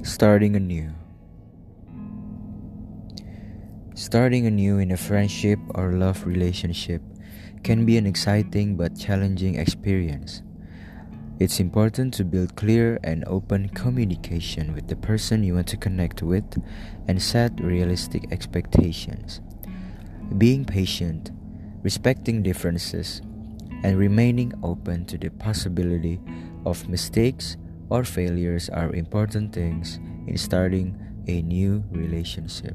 Starting anew. Starting anew in a friendship or love relationship can be an exciting but challenging experience. It's important to build clear and open communication with the person you want to connect with and set realistic expectations. Being patient, respecting differences, and remaining open to the possibility of mistakes or failures are important things in starting a new relationship.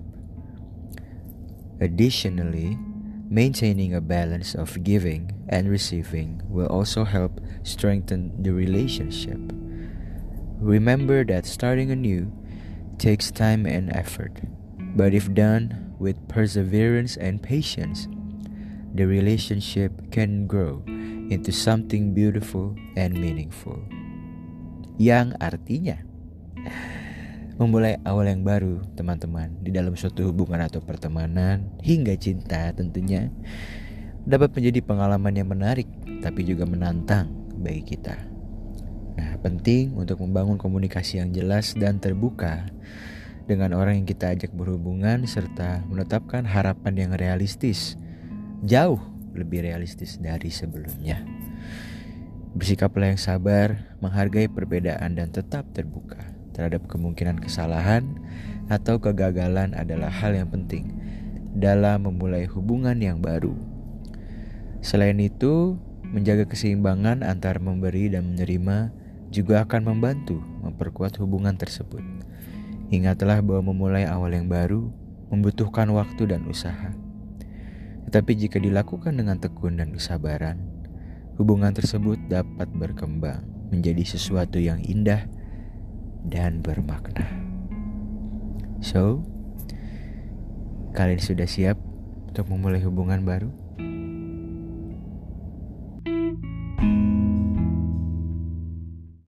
Additionally, maintaining a balance of giving and receiving will also help strengthen the relationship. Remember that starting anew takes time and effort, but if done with perseverance and patience, the relationship can grow into something beautiful and meaningful. Yang artinya memulai awal yang baru, teman-teman, di dalam suatu hubungan atau pertemanan hingga cinta tentunya dapat menjadi pengalaman yang menarik tapi juga menantang bagi kita. Nah, penting untuk membangun komunikasi yang jelas dan terbuka dengan orang yang kita ajak berhubungan serta menetapkan harapan yang realistis, jauh lebih realistis dari sebelumnya. Bersikaplah yang sabar, menghargai perbedaan dan tetap terbuka terhadap kemungkinan kesalahan atau kegagalan adalah hal yang penting dalam memulai hubungan yang baru. Selain itu, menjaga keseimbangan antara memberi dan menerima juga akan membantu memperkuat hubungan tersebut. Ingatlah bahwa memulai awal yang baru membutuhkan waktu dan usaha. Tetapi jika dilakukan dengan tekun dan kesabaran, hubungan tersebut dapat berkembang menjadi sesuatu yang indah dan bermakna. So, kalian sudah siap untuk memulai hubungan baru?